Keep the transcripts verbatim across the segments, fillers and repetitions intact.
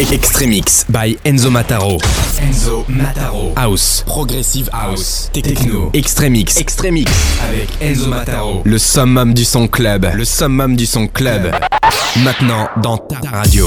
Extremix by Enzo Mataro. Enzo Mataro. House, Progressive House, Techno, Extremix, Extremix avec Enzo Mataro. Le summum du son club, le summum du son club. Maintenant dans ta radio.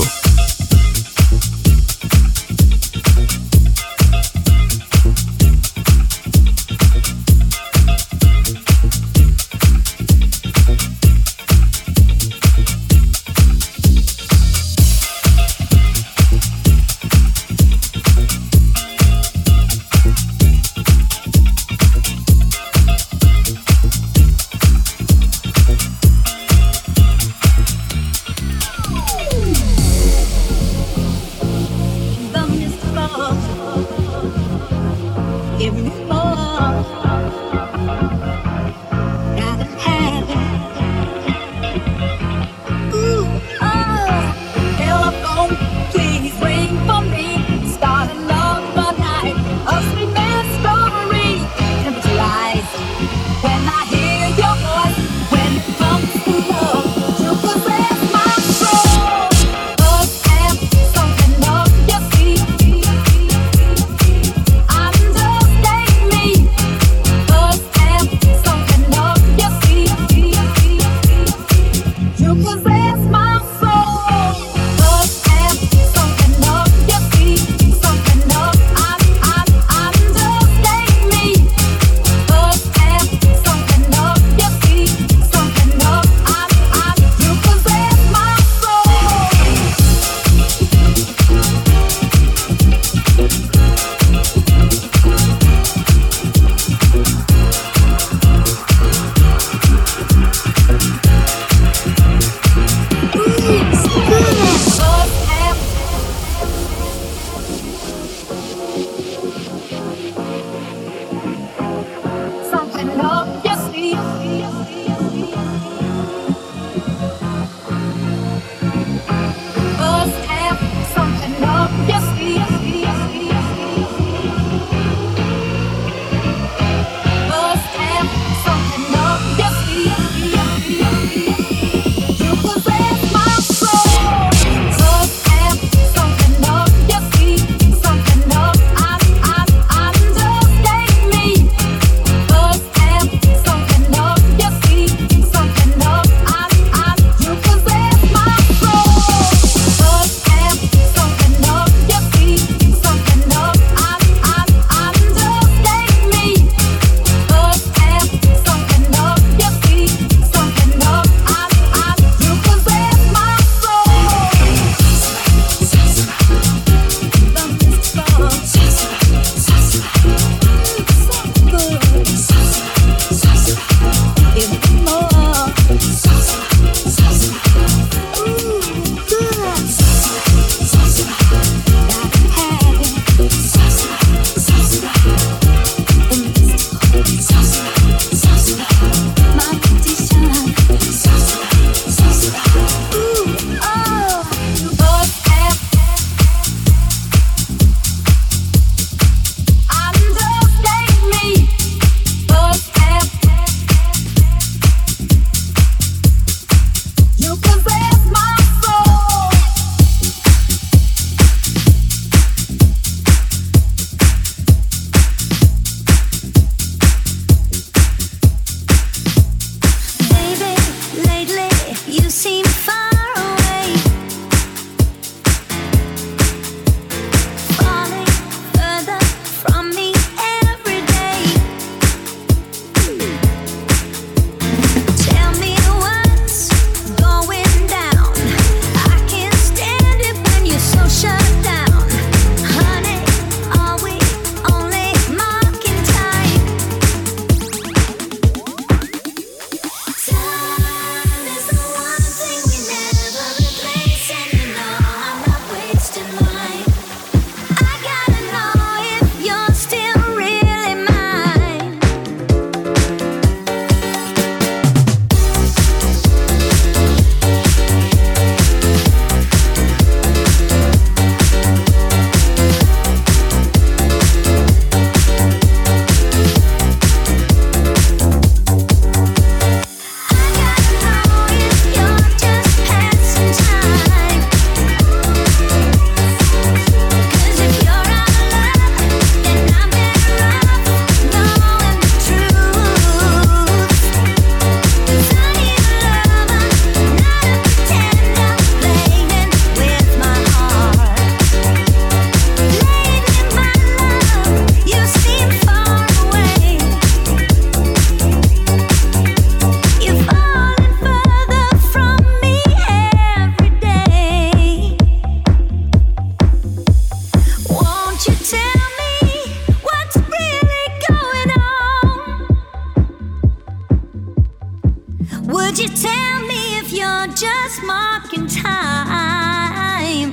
last mark in time.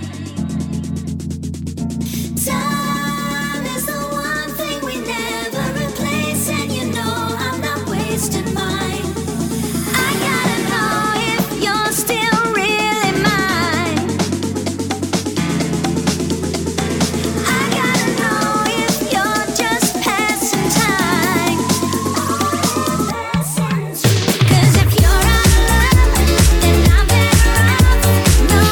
Time is the one thing we never replace, and you know I'm not wasting mine. I gotta know if you're still really mine. I gotta know if you're just passing time. 'Cause if you're out of love, then I'm better off. No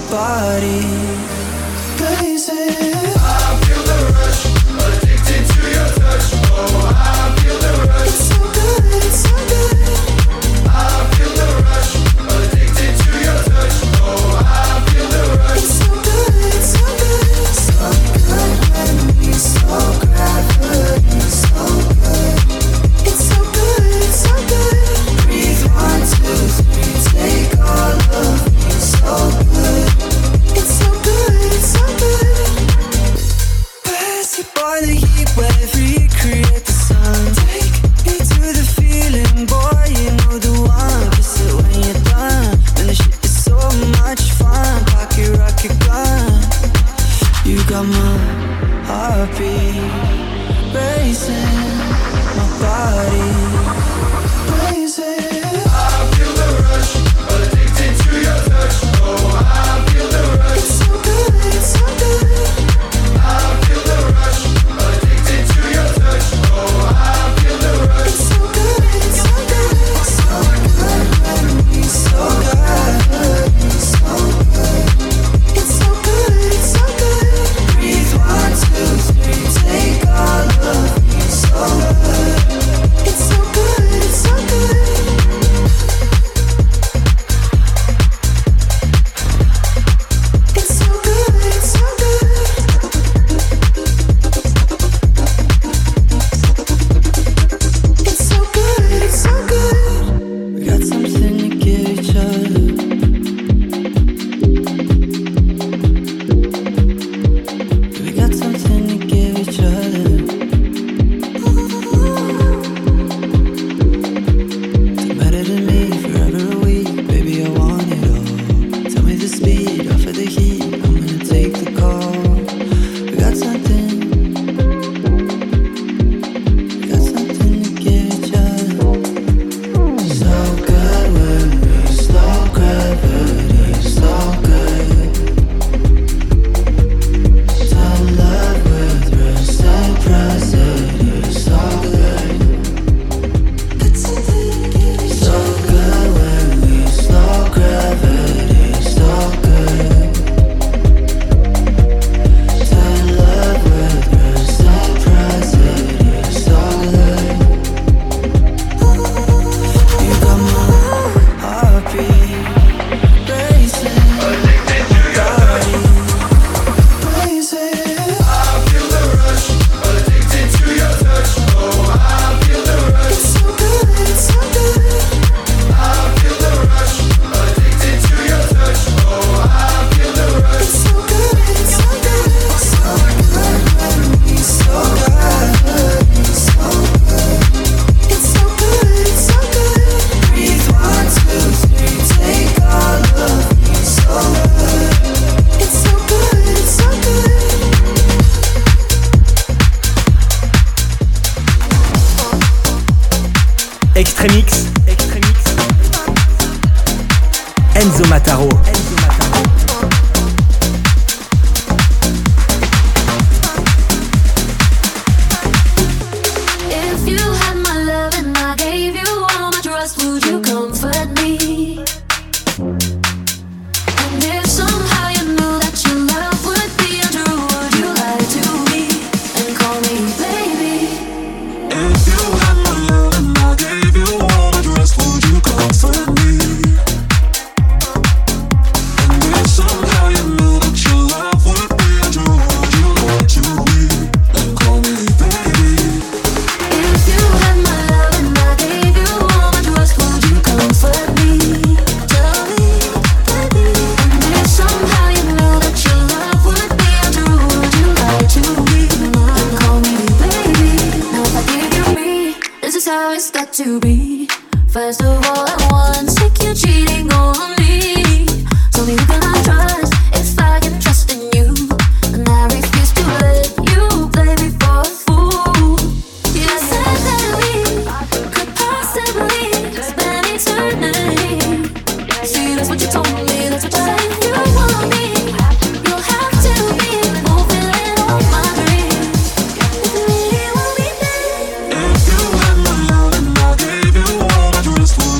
body blazing. I feel the rush, addicted to your touch. Oh, I feel the rush. It's so good, it's so good. I feel the rush, addicted to your touch. Oh, I feel the rush. It's so good, it's so good. So good when we so gravity, so good. It's so good, it's so good. Breathe one, two, three, take all of me, so good. It's so good, it's so good. Pass it by the heat wave, recreate the sun. Take me to the feeling, boy, you know the one. Kiss it when you're done, and the shit is so much fun. Pocket rocket gun, you got my heartbeat racing, my body blazing. I feel the rush, addicted to your touch. Oh, I feel the rush. It's so good, it's so good. I feel the rush, addicted to your touch. Oh, I feel the rush. It's so good, it's so good. So good when we so good, so good. It's so good, it's so good. Breathe one, two, three, take all of me, so good. It's so good, it's so good. It's so good, it's so good. It's so good, it's so good. We got something to give each other. We got something to give each other. It's better than me, forever a week. Baby, I want it all. Tell me the speed, offer the heat. I'm gonna take the call. We got something. We got something to give each other. So good when we slow gravity, so good. To love with reciprocity, so good. So good when we slow gravity, so good. To love with reciprocity, so good. You got my heartbeat racing, body blazing. I feel the rush, addicted to your touch. Oh, I feel the rush. It's so good, it's so good. I feel the rush, addicted to your touch. Oh, I feel the rush. It's so good, it's so good. So good when we so good, so good. It's so good, it's so good. Breathe one, two, three, take all of me, so good. It's so good, it's so good. Extremix, Extremix. Enzo Mataro. Enzo Mataro. If you had my love and I gave you all my trust, would you comfort me? And if somehow you knew that your love would be untrue, would you lie to me and call me baby? If you had my love and I gave you all the rest, would you comfort me? And if somehow you knew that your love would be untrue, would you lie to me and call me baby? If you had my love and I gave you all my trust, would you comfort me? Tell me, baby. And if somehow you knew that your love would be untrue, would you lie to me and call me baby? Now if I give you me, this is how it's got to be. First of all, I want sick you cheating on me. Tell me who can I trust if I can trust in you? And I refuse to let you play me for a fool. You said that we could possibly spend eternity. See, that's what you told me, that's what you said. If you want me, you'll have to be fulfilling all my dreams. If you really want me, babe. If you had my love and I gave you all the rest, would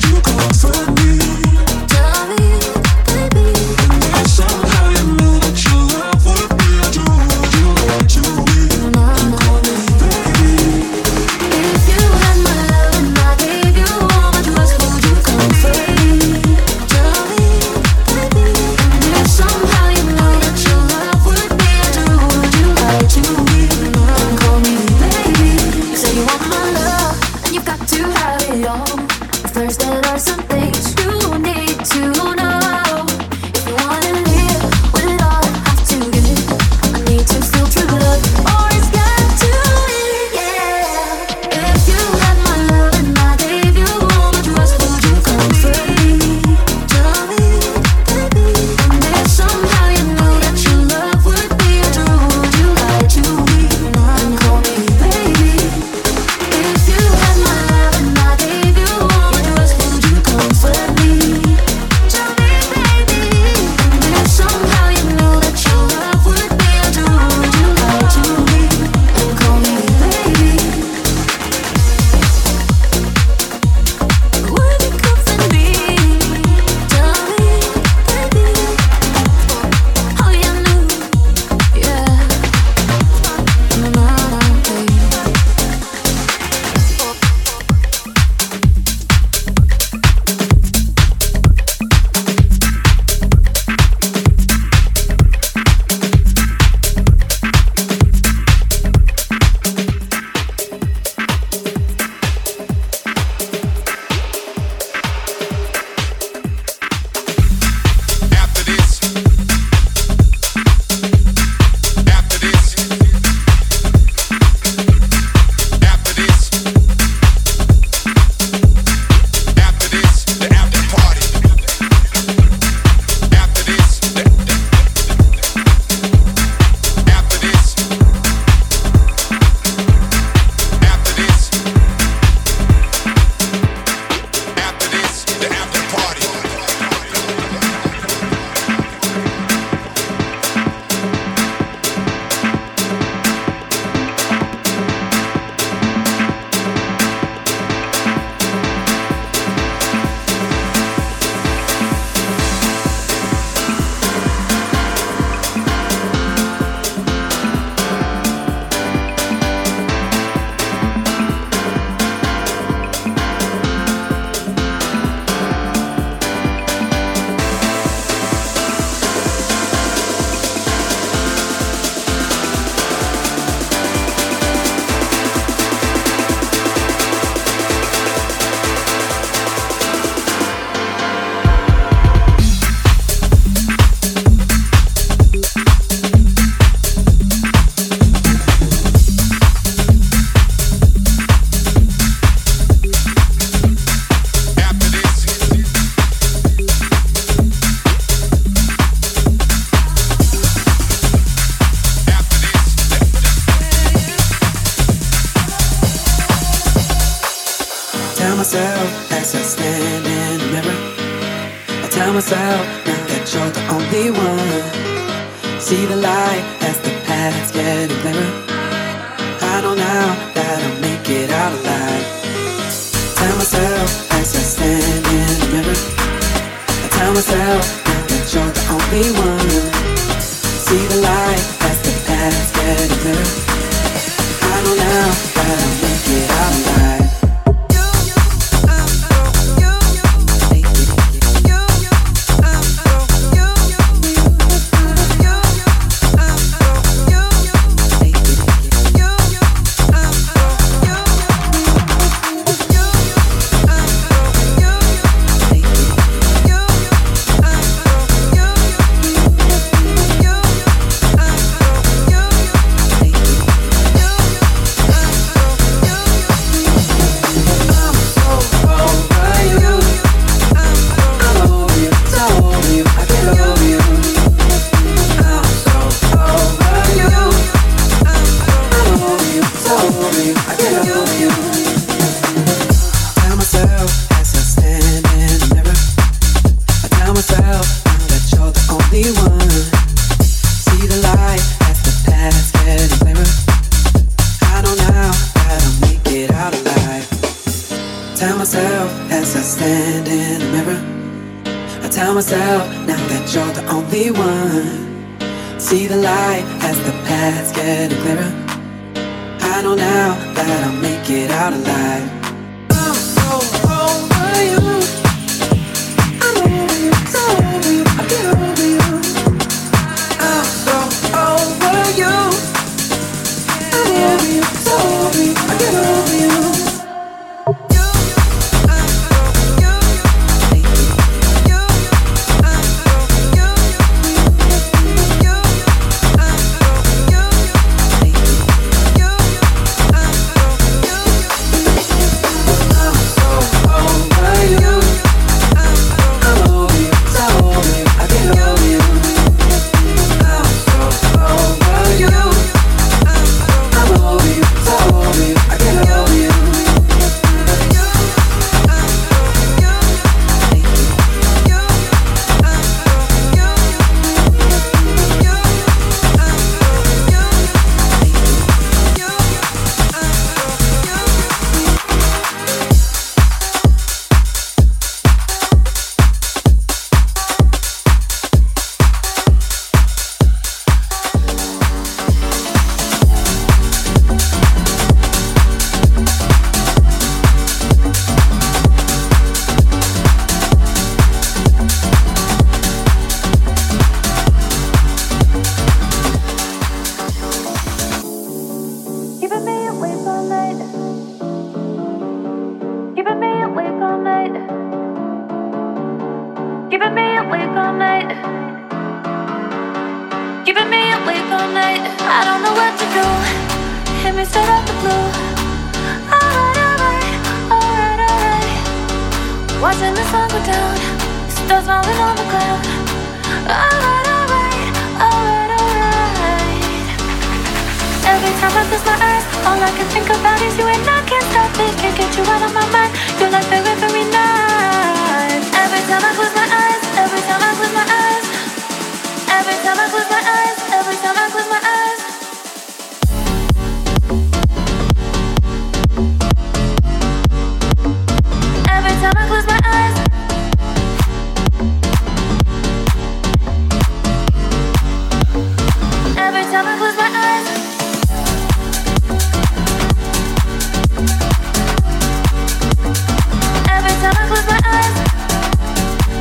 myself as I stand in the mirror. I tell myself now that you're the only one. See the light as the path's getting clearer. I know now that I'll make it out alive. Tell myself as I stand in the mirror. I tell myself now that you're the only one. See the light as the path's getting clearer. I know now that I'll make it out alive. See the light as the path's getting clearer. I know now that I'll make it out alive. I'm so over you. I'm over you, so over you, I get over you. I'm so over you. I'm over you, so over you, I get over you.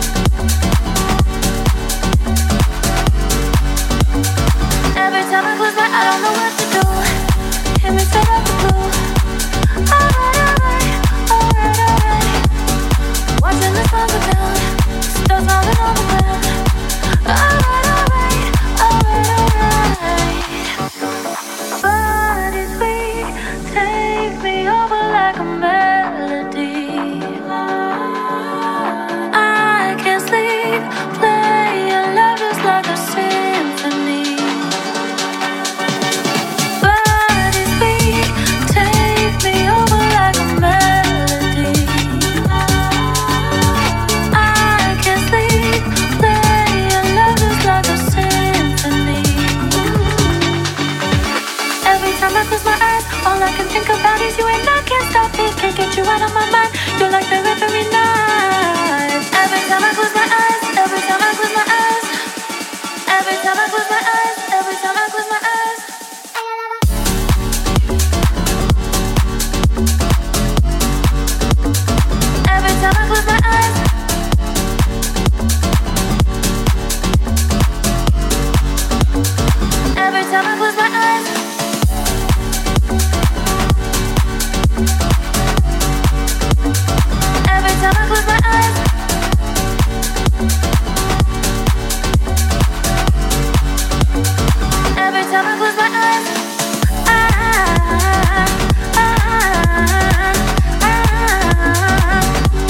Every time I close All I can think about is you and I can't stop it. Can't get you out of my mind. You're like the every night. Every time I close my eyes, every time I close my eyes, every time I close my eyes, every time I close my eyes. Every time I close my eyes. Every time I close my eyes. Every time I close my eyes. Every time I close my eyes. Ah, ah, ah, ah, ah,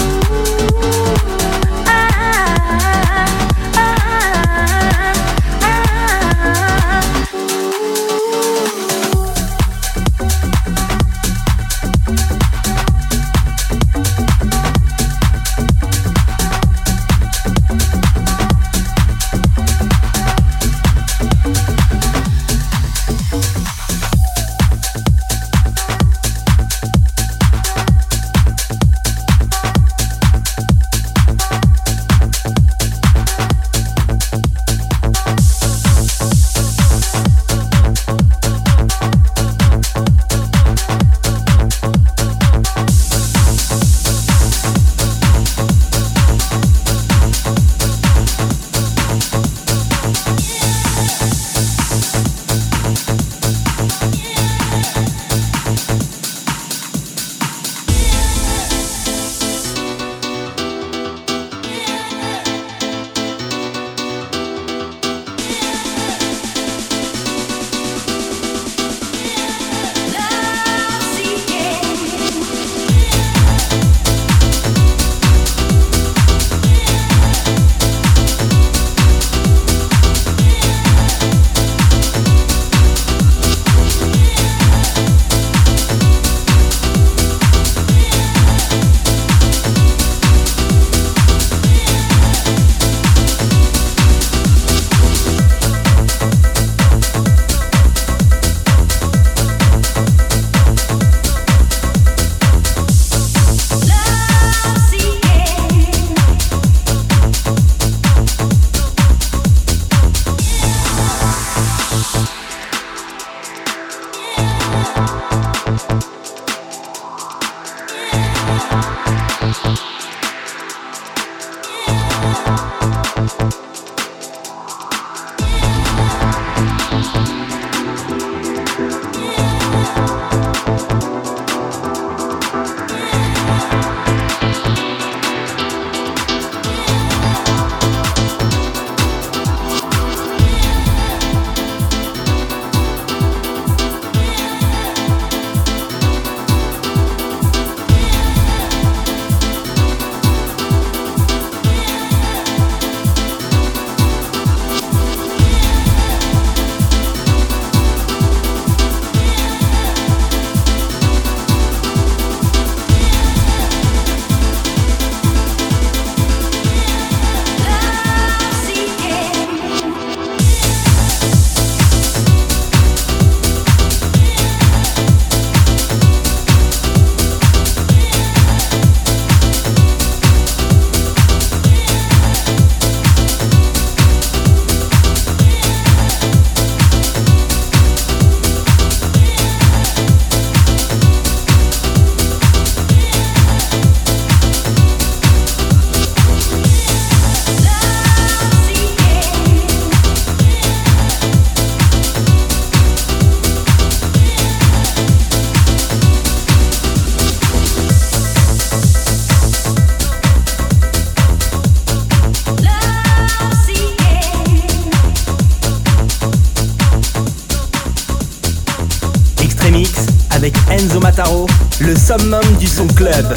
avec Enzo Mataro, le summum du son club.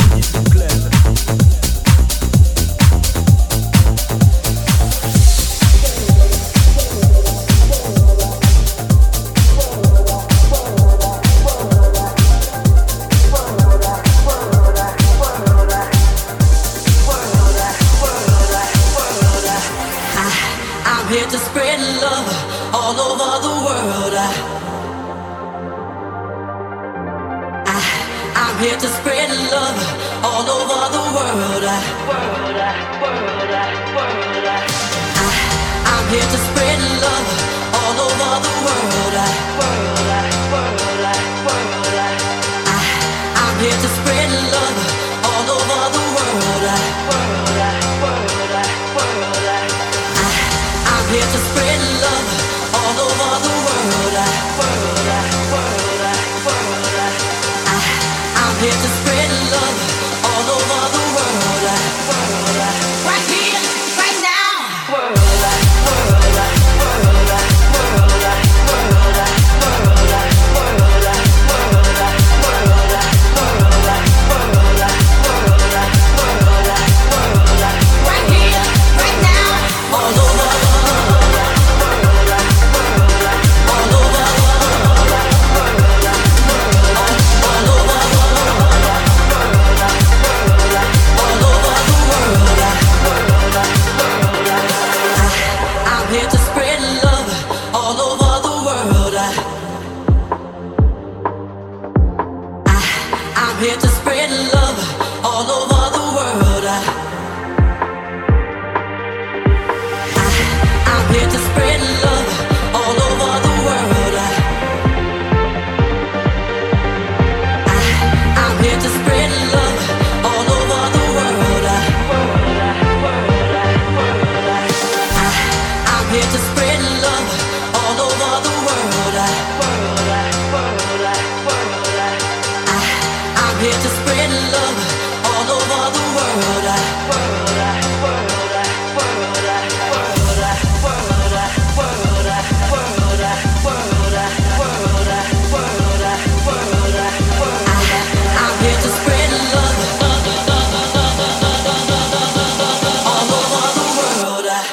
Here to spread love all over the world. here to spread love all over the world. I, I'm here to spread love all over the world. I, I'm here to spread love all over the world. I, I'm here to spread love all over the world. I, I'm here to spread love all over the world. Right here, right now. World, world, right here, right now. All over, all over, all over. I'm here to spread love all over the world. I, I'm here to spread love all over the world. I, I'm here to spread love all over the world. I, I'm here to spread love all over the world. I, I'm here to spread love all over the world. I, I'm here to spread love all over the world. I, I'm here to spread love all over the world. I,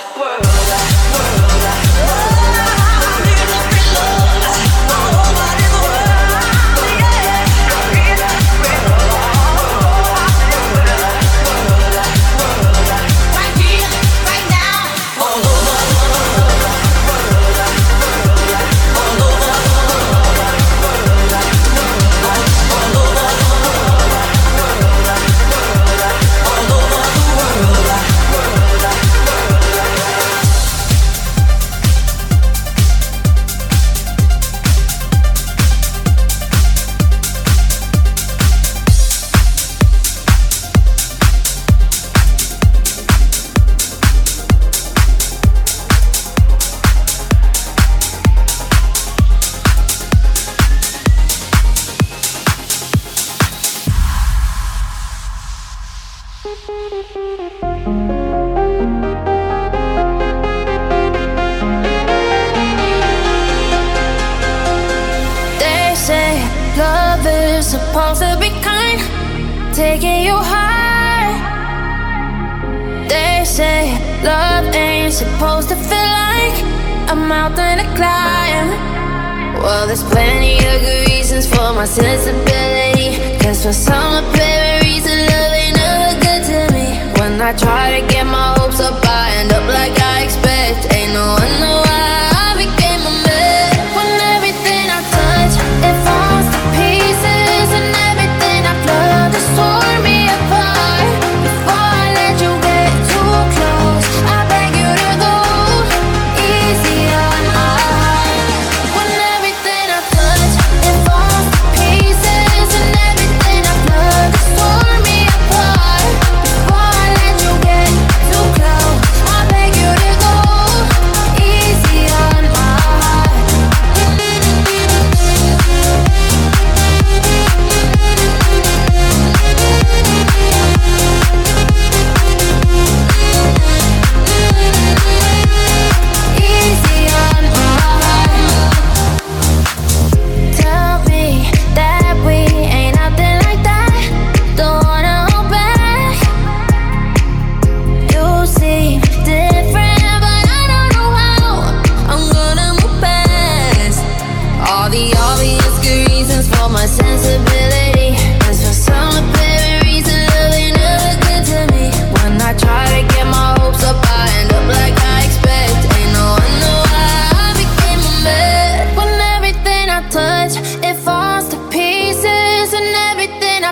right here, right now. All over, all over, all over, all over the world. They say love is supposed to be kind, taking you high. They say love ain't supposed to feel like a mountain to climb. Well, there's plenty of good reasons for my sensibility, cause for some apparent reason love ain't never good to me. When I try to get my hopes up, I end up like I expect. Ain't no wonder why I became a mess. When everything I touch, it falls to pieces, and everything I've loved has torn me apart. Before I let you get too close, I beg you to go easy on my heart. When everything I touch, it falls to pieces, and everything I've loved has torn me apart. Before I let you get too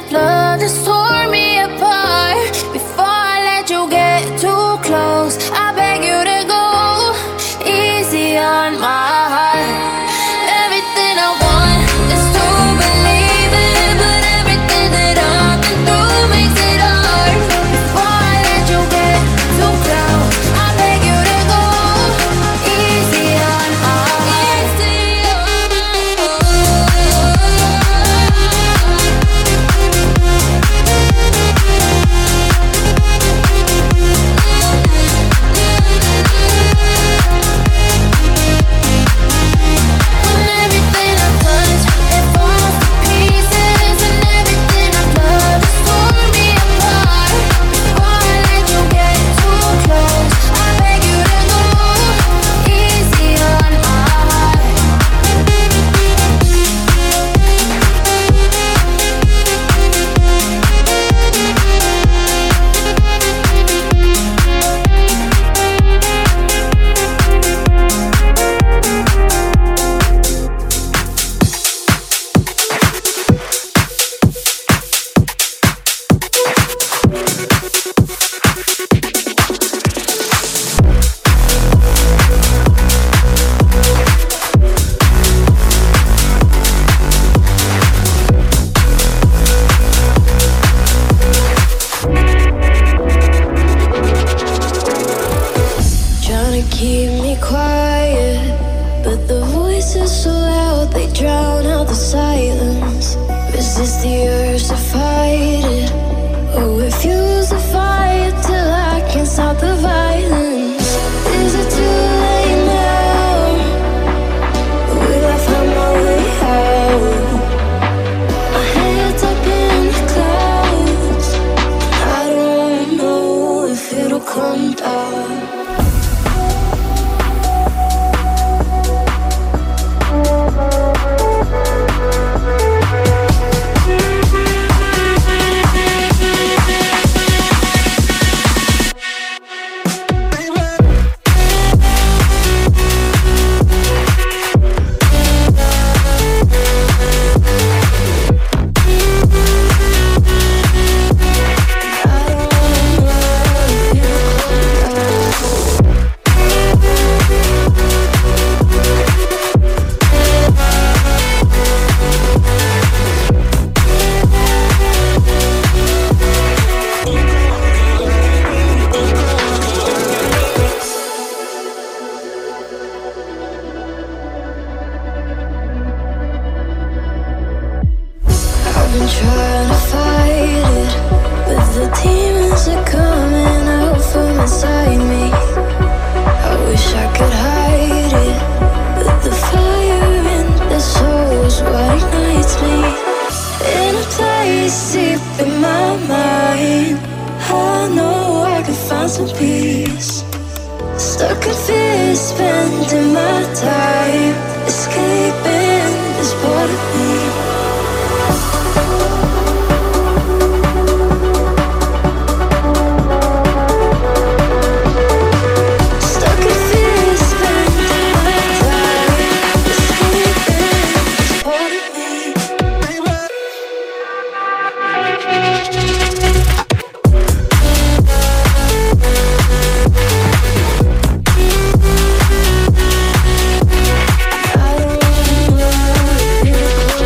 of love just tore me apart. Before I let you get too close, I beg you to go easy on my heart. Everything I want is to believe it, but everything that I've been through makes it hard. Before I let you get too close, I beg you to go easy on my heart. Easy on When everything I touch, it falls to pieces, and everything I've loved has torn me apart. Before I let you get too close, I beg you to go easy on my heart. Trying to keep me quiet, but the voices so loud they drown out the silence. Resist the urge to fight it, or refuse to fight till I can stop the violence. Is it too late now? Will I find my way out? My head's up in the clouds. I don't know if it'll come down. I've been trying to fight it, but the demons are coming out from inside me. I wish I could hide it, but the fire in the soul is what ignites me. In a place deep in my mind, I know I can find some peace. Stuck in fear, spending my time escaping this part of me. Stuck in fear, spending my time escaping this part of me. I don't wanna feel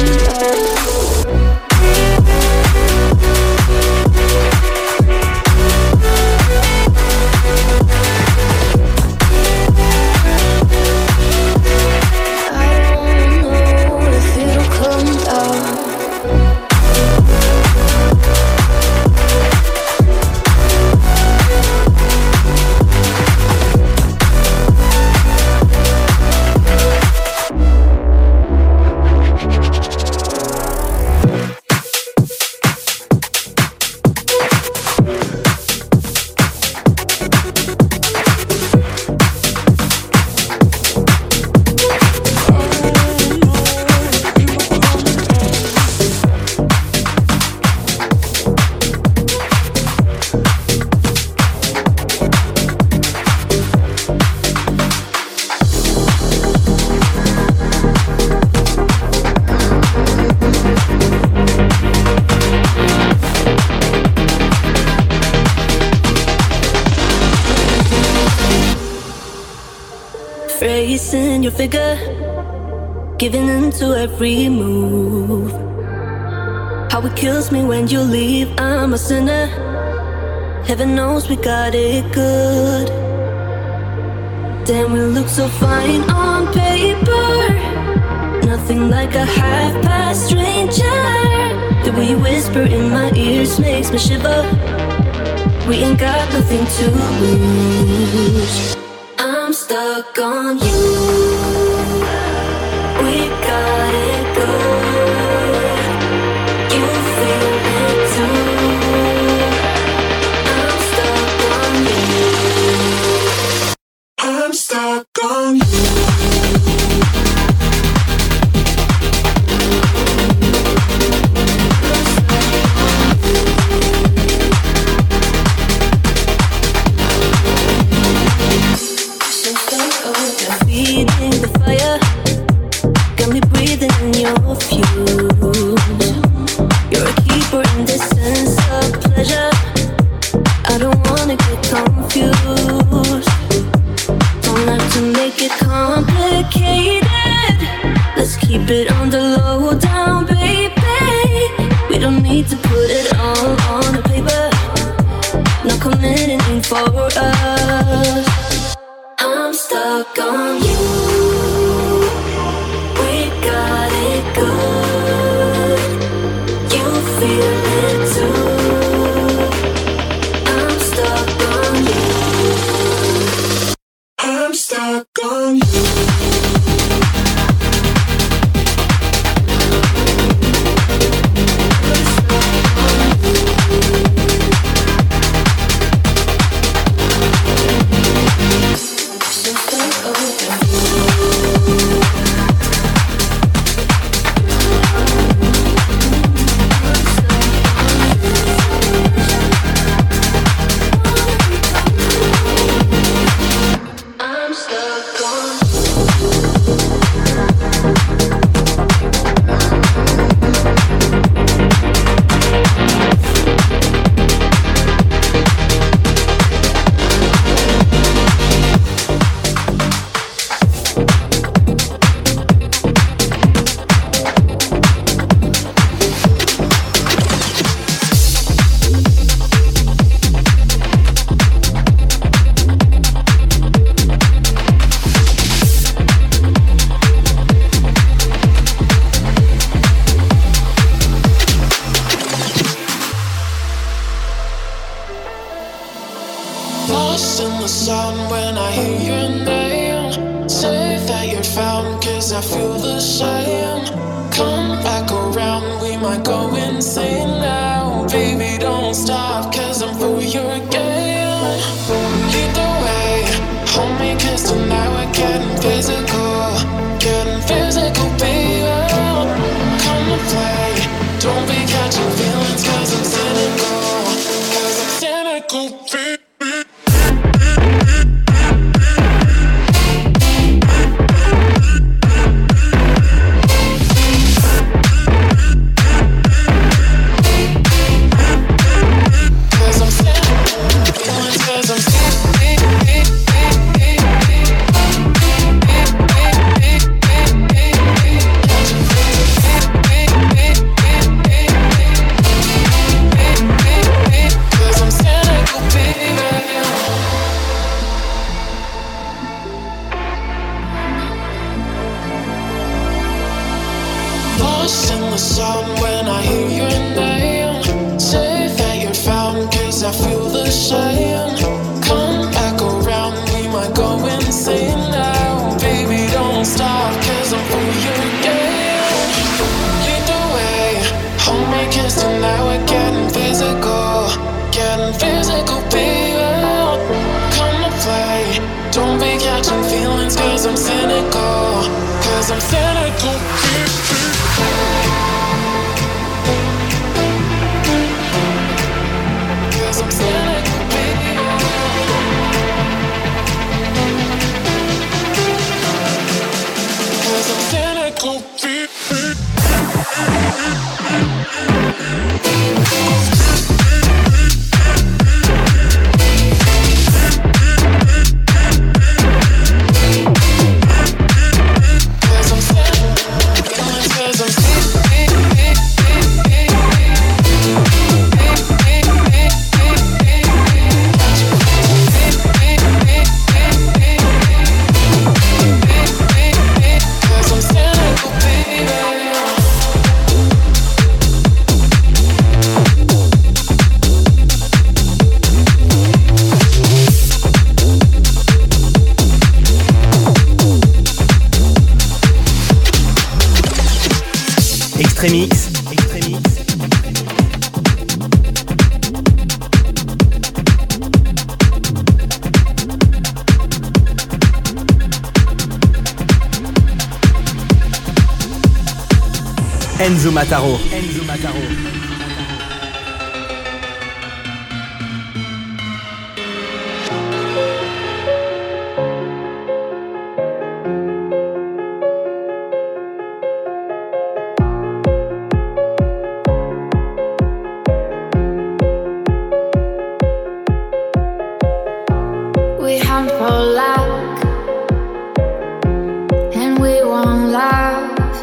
your figure, giving into every move. How it kills me when you leave, I'm a sinner. Heaven knows we got it good. Damn, we look so fine on paper. Nothing like a half-past stranger. The way you whisper in my ears makes me shiver. We ain't got nothing to lose. I'm stuck on you. We got it good. You feel it too. I'm stuck on you. I'm stuck on you. Feeding the fire, got me breathing in your fumes. You're a keeper in this sense of pleasure. I don't wanna get confused. Don't have to make it complicated. Let's keep it on the low down, baby. We don't need to put it all on the paper. No committing for us. I'm stuck on you. We got it good. You feel it too. I'm stuck on you. I'm stuck on you. Lost in the sun when I hear your name. Say that you're found, cause I feel the same. Come back around, we might go insane now. Baby, don't stop, cause I'm for your game. Lead the way, hold me, cause tonight we're getting physical. Getting physical, baby. Come and play, don't be catching feelings, cause I'm cynical. Cause I'm cynical, baby. Lost in the sun when I hear your name. Say that you're found, cause I feel the same. Come back around, we might go insane now. Baby, don't stop, cause I'm for your game. Lead the way, hold me, cause tonight we're getting physical. Getting physical, baby. Come to play, don't be catching feelings, cause I'm cynical. Cause I'm cynical, baby. Cause I'm cynical, baby. Cause I'm cynical, baby. Extremix. Extremix. Enzo Mataro. Enzo Mataro. We hunt for luck, and we won't laugh.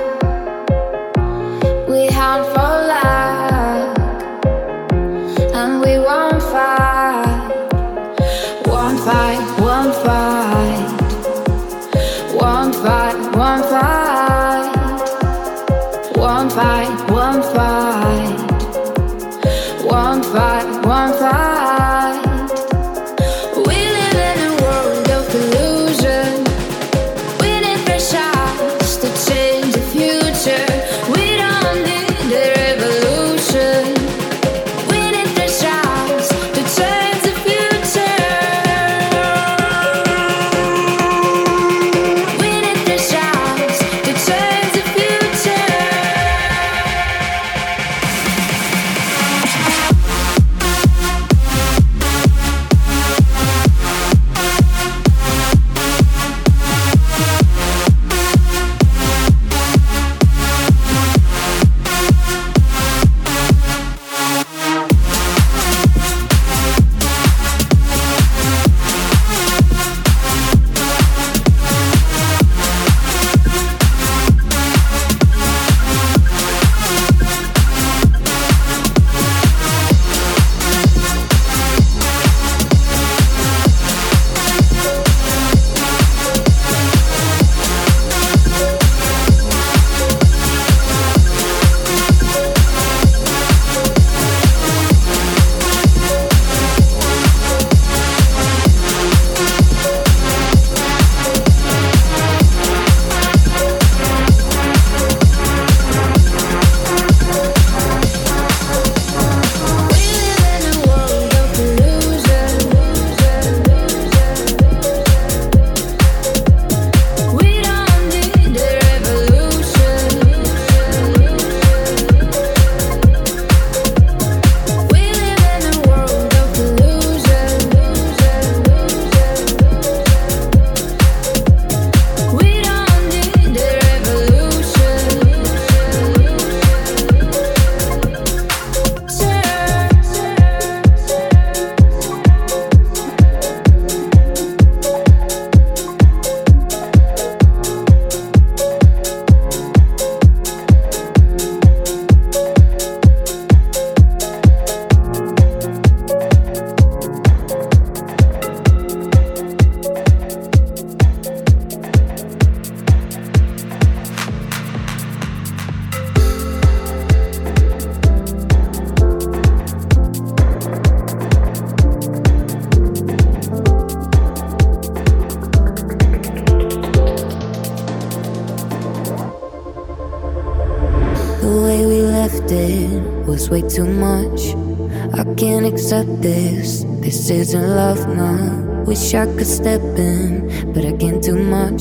We hunt for luck, and we won't fight. Won't fight, won't fight. Won't fight, won't fight. Won't fight, won't fight. Won't fight, won't fight. We live in a world of illusion. We need fresh eyes to change the future. We don't need a revolution. We need fresh eyes to change the future. We need fresh eyes to change the future. was way too much. I can't accept this. This isn't love now. Wish I could step in, but I can't do much.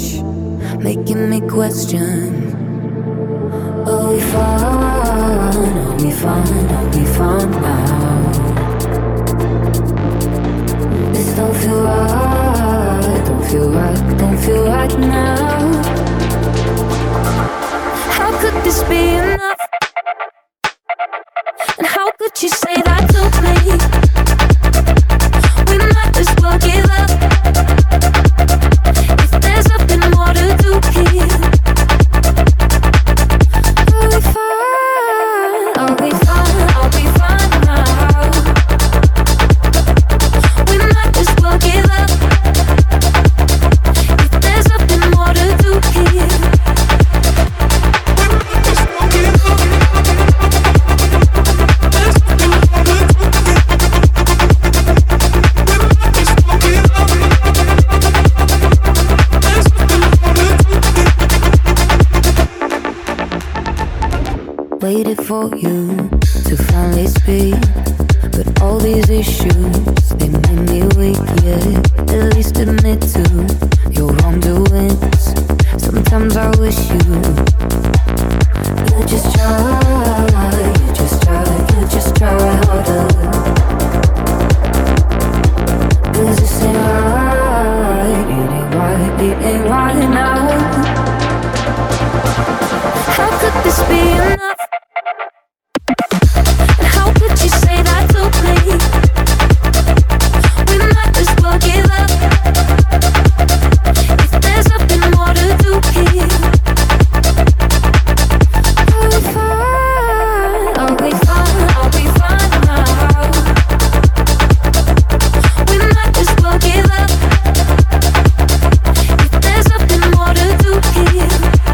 Making me question. Are we fine? Are we fine? Are we fine now? This don't feel right. Don't feel right. Don't feel right now. How could this be enough? And how could you say that to me? We might as well give up. If there's nothing more to do here. Are we fine? Are we fine? for you to finally speak. But all these issues, they make me weak, yeah. At least admit to your wrongdoings. Sometimes I wish you You just try, you just try, you just try harder. Cause this ain't right, it ain't right, it ain't right now. How could this be enough? And how could you say that to me? We might as well give up. If there's nothing more to do here, I'll be fine, I'll be fine, I'll be fine now. We might as well give up. If there's nothing more to do here,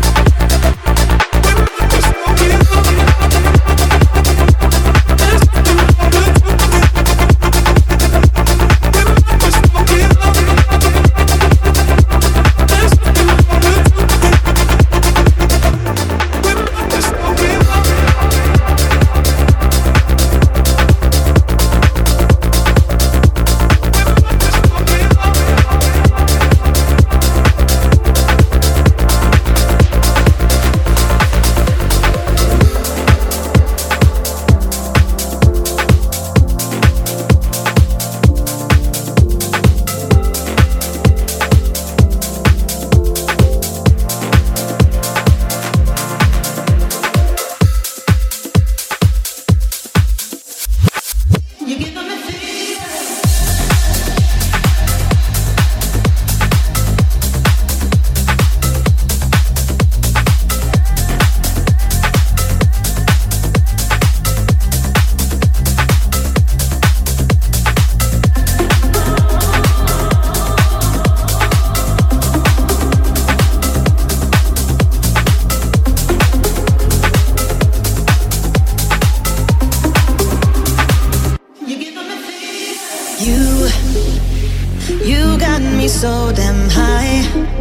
so damn high.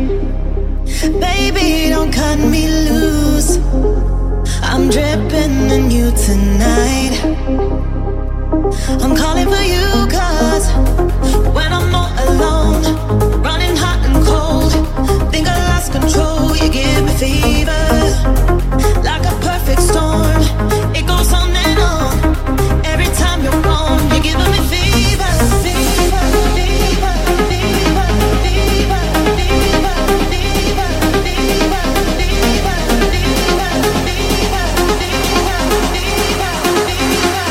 Baby, don't cut me loose. I'm dripping in you tonight. I'm calling for you cause when I'm all alone, running hot and cold, think I lost control. You give me fever, like a perfect storm. It goes on and on, every time you're gone. You're giving me fever, fever, fever, fever, fever, fever, fever, fever, fever, fever, fever, fever, fever, fever.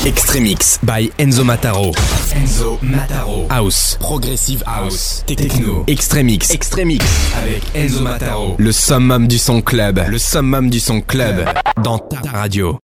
Extremix by Enzo Mataro. Enzo Mataro. House, Progressive House, Techno, Extremix, Extremix avec Enzo Mataro. Le summum du son club, le summum du son club dans ta radio.